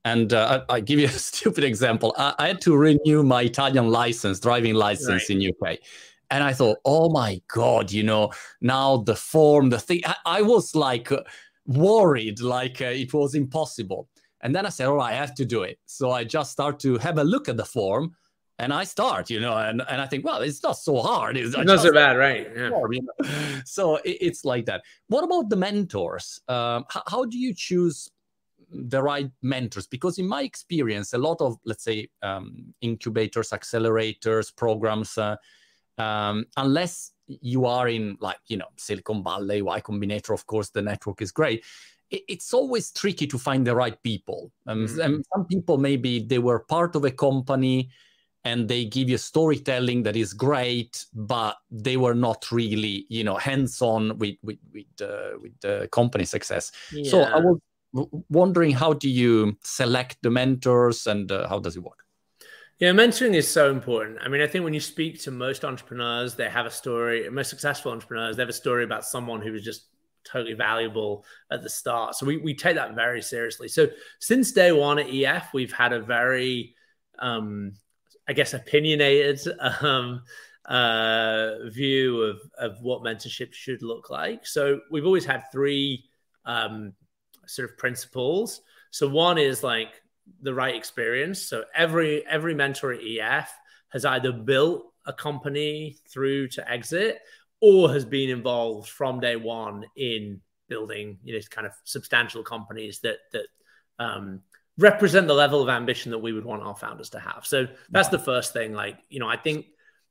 Speaker 1: And uh, I, I give you a stupid example. I, I had to renew my Italian license, driving license right. in U K. And I thought, oh my God, you know, now the form, the thing, I, I was like worried, like uh, it was impossible. And then I said, all right, I have to do it. So I just start to have a look at the form and I start, you know, and, and I think, well, it's not so hard. It's,
Speaker 2: it's not so bad, right? Yeah.
Speaker 1: Form, you know? So it, it's like that. What about the mentors? Um, how, how do you choose the right mentors? Because in my experience, a lot of, let's say, um, incubators, accelerators, programs, uh, um, unless you are in like, you know, Silicon Valley, Y Combinator, of course, the network is great. It, it's always tricky to find the right people. Um, mm-hmm. And some people, maybe they were part of a company and they give you storytelling that is great, but they were not really, you know, hands-on with, with, with, uh, with the company success. Yeah. So I was wondering, how do you select the mentors and uh, how does it work?
Speaker 2: Yeah, mentoring is so important. I mean, I think when you speak to most entrepreneurs, they have a story, most successful entrepreneurs, they have a story about someone who was just totally valuable at the start. So we, we take that very seriously. So since day one at E F, we've had a very, um, I guess, opinionated um, uh, view of, of what mentorship should look like. So we've always had three um, sort of principles. So one is like the right experience. So every every mentor at E F has either built a company through to exit or has been involved from day one in building, you know, kind of substantial companies that that um, represent the level of ambition that we would want our founders to have. So that's the first thing. Like, you know, I think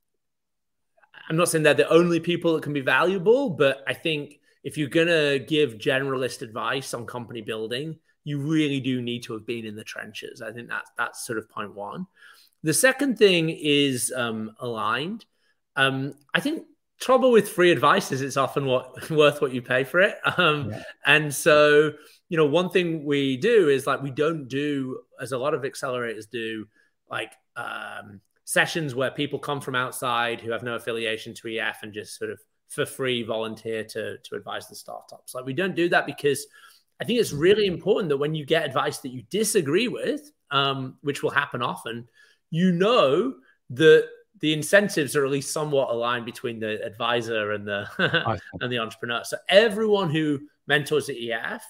Speaker 2: I'm not saying they're the only people that can be valuable, but I think if you're going to give generalist advice on company building, you really do need to have been in the trenches. I think that's, that's sort of point one. The second thing is um, aligned. Um, I think trouble with free advice is it's often what worth what you pay for it. Um, yeah. And so, you know, one thing we do is like, we don't do, as a lot of accelerators do, like um, sessions where people come from outside who have no affiliation to E F and just sort of for free volunteer to, to advise the startups. Like, we don't do that because I think it's really important that when you get advice that you disagree with, um, which will happen often, you know that the incentives are at least somewhat aligned between the advisor and the and the entrepreneur. So everyone who mentors at E F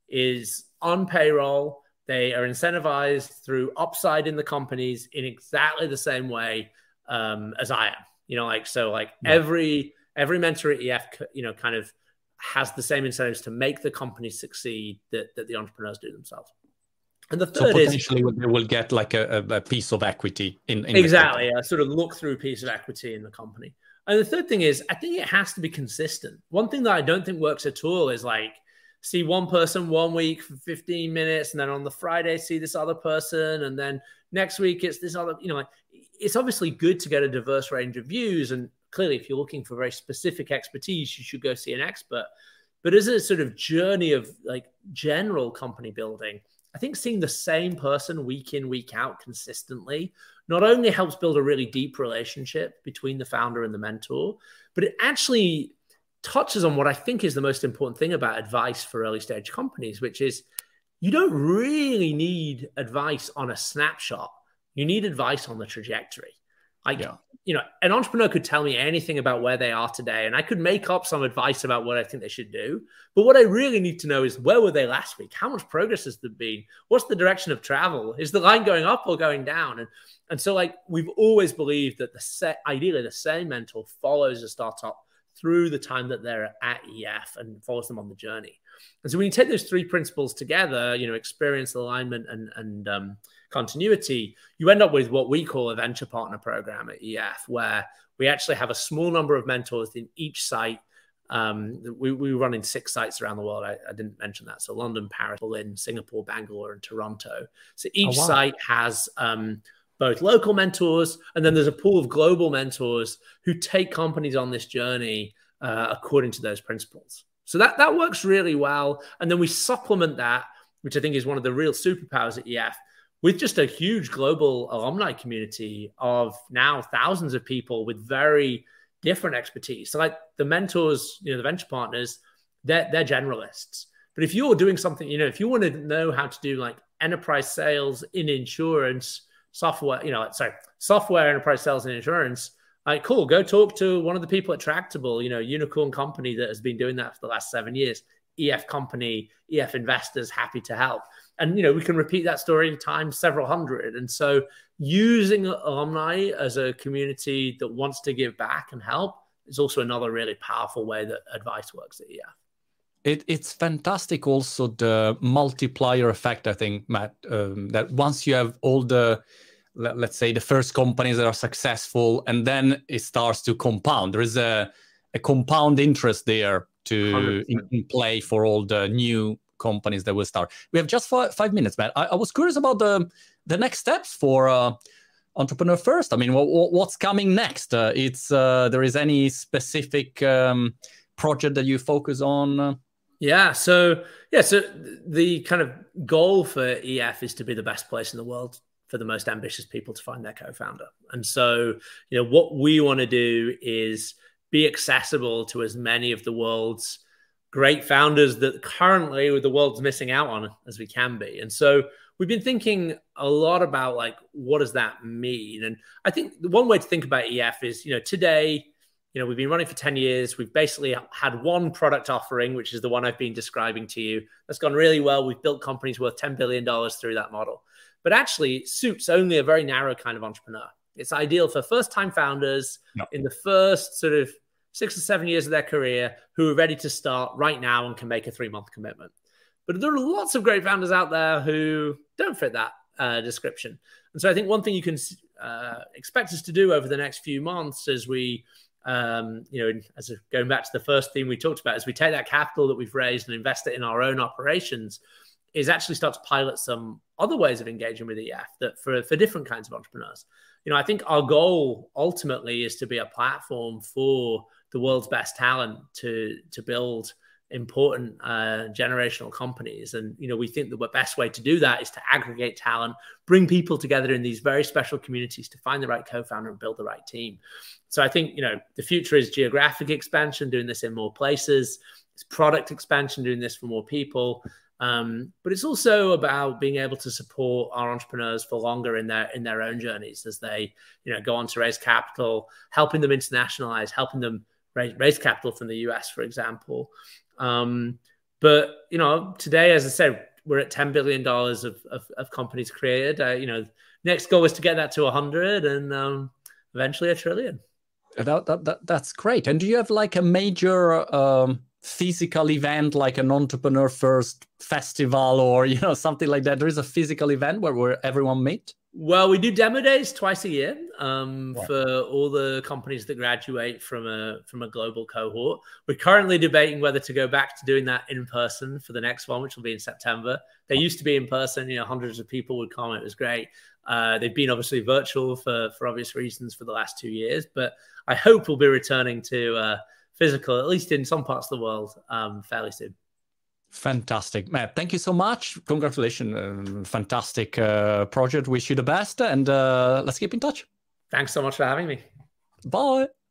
Speaker 2: is on payroll. They are incentivized through upside in the companies in exactly the same way um, as I am. You know, like so, like yeah. every every mentor at E F, you know, kind of has the same incentives to make the company succeed that, that the entrepreneurs do themselves. And the third
Speaker 1: so potentially
Speaker 2: is
Speaker 1: they will get like a, a piece of equity in, in
Speaker 2: exactly a sort of look through piece of equity in the company. And the third thing is, I think it has to be consistent. One thing that I don't think works at all is like see one person one week for fifteen minutes, and then on the Friday see this other person, and then next week it's this other. You know, like it's obviously good to get a diverse range of views, and clearly, if you're looking for very specific expertise, you should go see an expert. But as a sort of journey of like general company building, I think seeing the same person week in, week out consistently not only helps build a really deep relationship between the founder and the mentor, but it actually touches on what I think is the most important thing about advice for early stage companies, which is you don't really need advice on a snapshot. You need advice on the trajectory. Like, yeah. you know, an entrepreneur could tell me anything about where they are today, and I could make up some advice about what I think they should do. But what I really need to know is, where were they last week? How much progress has there been? What's the direction of travel? Is the line going up or going down? And and so, like, we've always believed that the set, ideally, the same mentor follows a startup through the time that they're at E F and follows them on the journey. And so when you take those three principles together, you know, experience, alignment, and and um, continuity, you end up with what we call a venture partner program at E F, where we actually have a small number of mentors in each site. Um, we, we run in six sites around the world. I, I didn't mention that. So London, Paris, Berlin, Singapore, Bangalore, and Toronto. So each oh, wow. site has um, both local mentors, and then there's a pool of global mentors who take companies on this journey uh, according to those principles. So that, that works really well. And then we supplement that, which I think is one of the real superpowers at E F, with just a huge global alumni community of now thousands of people with very different expertise. So like the mentors, you know, the venture partners, they're, they're generalists. But if you're doing something, you know, if you want to know how to do like enterprise sales in insurance, software, you know, sorry, software enterprise sales and insurance. Like, cool, go talk to one of the people at Tractable, you know, unicorn company that has been doing that for the last seven years. E F company, E F investors, happy to help. And, you know, we can repeat that story times several hundred. And so using alumni as a community that wants to give back and help is also another really powerful way that advice works at E F.
Speaker 1: It, it's fantastic also the multiplier effect, I think, Matt, um, that once you have all the, let's say, the first companies that are successful, and then it starts to compound. There is a, a compound interest there to in, in play for all the new companies that will start. We have just five, five minutes, Matt. I, I was curious about the the next steps for uh, Entrepreneur First. I mean, what, what's coming next? Uh, it's uh, there is any specific um, project that you focus on?
Speaker 2: Yeah, so yeah, so the kind of goal for E F is to be the best place in the world for the most ambitious people to find their co-founder. And so, you know, what we want to do is be accessible to as many of the world's great founders that currently the world's missing out on as we can be. And so we've been thinking a lot about, like, what does that mean? And I think the one way to think about E F is, you know, today, you know, we've been running for ten years. We've basically had one product offering, which is the one I've been describing to you. That's gone really well. We've built companies worth ten billion dollars through that model. But actually, it suits only a very narrow kind of entrepreneur. It's ideal for first-time founders no. in the first sort of six or seven years of their career who are ready to start right now and can make a three-month commitment. But there are lots of great founders out there who don't fit that uh, description. And so I think one thing you can uh, expect us to do over the next few months as we, um, you know, as a, going back to the first theme we talked about, as we take that capital that we've raised and invest it in our own operations, is actually start to pilot some other ways of engaging with E F that for, for different kinds of entrepreneurs. You know, I think our goal ultimately is to be a platform for the world's best talent to, to build important uh, generational companies. And, you know, we think that the best way to do that is to aggregate talent, bring people together in these very special communities to find the right co-founder and build the right team. So I think, you know, the future is geographic expansion, doing this in more places. It's product expansion, doing this for more people. Um, but it's also about being able to support our entrepreneurs for longer in their in their own journeys as they, you know, go on to raise capital, helping them internationalize, helping them raise, raise capital from the U S, for example. Um, but, you know, today, as I said, we're at ten billion dollars of, of, of companies created. Uh, you know, next goal is to get that to one hundred and um, eventually a trillion.
Speaker 1: That, that, that, that's great. And do you have like a major um, physical event, like an Entrepreneur First festival or, you know, something like that? There is a physical event where, where everyone meet?
Speaker 2: Well, we do demo days twice a year um,
Speaker 1: wow.
Speaker 2: for all the companies that graduate from a from a global cohort. We're currently debating whether to go back to doing that in person for the next one, which will be in September. They used to be in person, you know, hundreds of people would come. It was great. Uh, they've been obviously virtual for, for obvious reasons for the last two years, but I hope we'll be returning to uh, physical, at least in some parts of the world, um, fairly soon.
Speaker 1: Fantastic, Matt. Thank you so much. Congratulations. Um, fantastic uh, project. Wish you the best. And uh, let's keep in touch.
Speaker 2: Thanks so much for having me.
Speaker 1: Bye.